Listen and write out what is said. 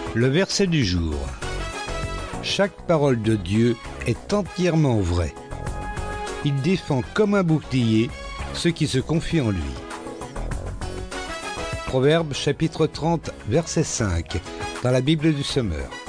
Le verset du jour. Chaque parole de Dieu est entièrement vraie. Il défend comme un bouclier ceux qui se confient en lui. Proverbe chapitre 30, verset 5, dans la Bible du Semeur.